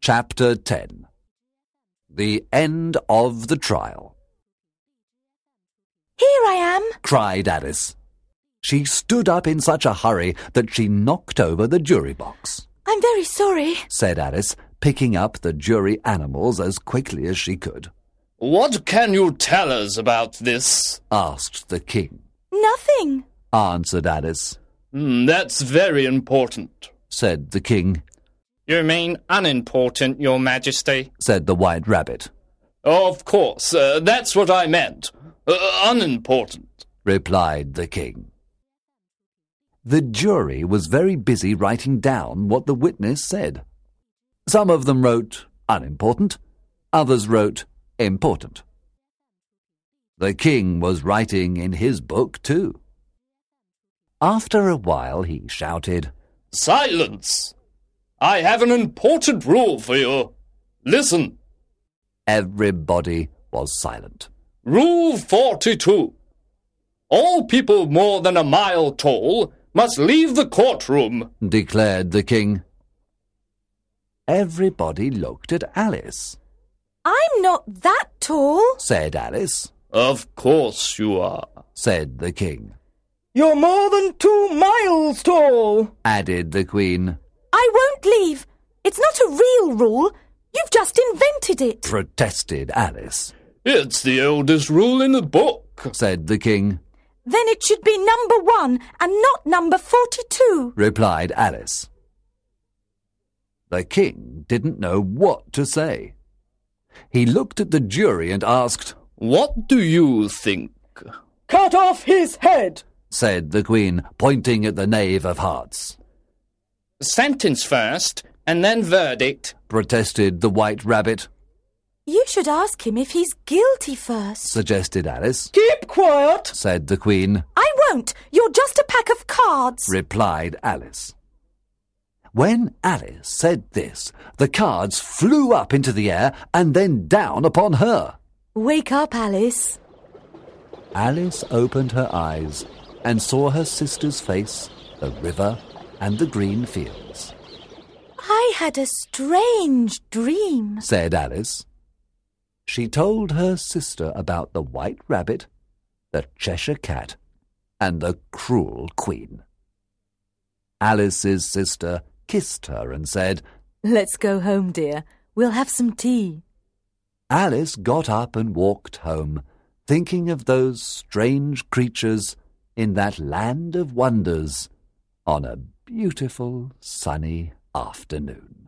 Chapter 10. The End of the Trial. "Here I am," cried Alice. She stood up in such a hurry that she knocked over the jury box. "I'm very sorry," said Alice, picking up the jury animals as quickly as she could. "What can you tell us about this?" asked the king. "Nothing," answered Alice. That's very important," said the king. "You mean unimportant, Your Majesty?" said the White Rabbit. "Of course, that's what I meant. Unimportant," replied the king. The jury was very busy writing down what the witness said. Some of them wrote unimportant, others wrote important. The king was writing in his book too. After a while he shouted, "Silence! I have an important rule for you. Listen." Everybody was silent. Rule 42. All people more than a mile tall must leave the courtroom, declared the king. Everybody looked at Alice. "I'm not that tall," said Alice. "Of course you are," said the king. "You're more than 2 miles tall," added the queen. "I won't leave. It's not a real rule. You've just invented it," protested Alice. "It's the oldest rule in the book," said the king. "Then it should be number 1 and not number 42, replied Alice. The king didn't know what to say. He looked at the jury and asked, "What do you think?" "Cut off his head," said the queen, pointing at the Knave of Hearts. "Sentence first, and then verdict," protested the White Rabbit. "You should ask him if he's guilty first," suggested Alice. "Keep quiet," said the queen. "I won't. You're just a pack of cards," replied Alice. When Alice said this, the cards flew up into the air and then down upon her. "Wake up, Alice." Alice opened her eyes and saw her sister's face, the river, and the green fields. "I had a strange dream," said Alice. She told her sister about the White Rabbit, the Cheshire Cat, and the cruel Queen. Alice's sister kissed her and said, "Let's go home, dear. We'll have some tea." Alice got up and walked home, thinking of those strange creatures in that land of wonders on a beautiful sunny afternoon.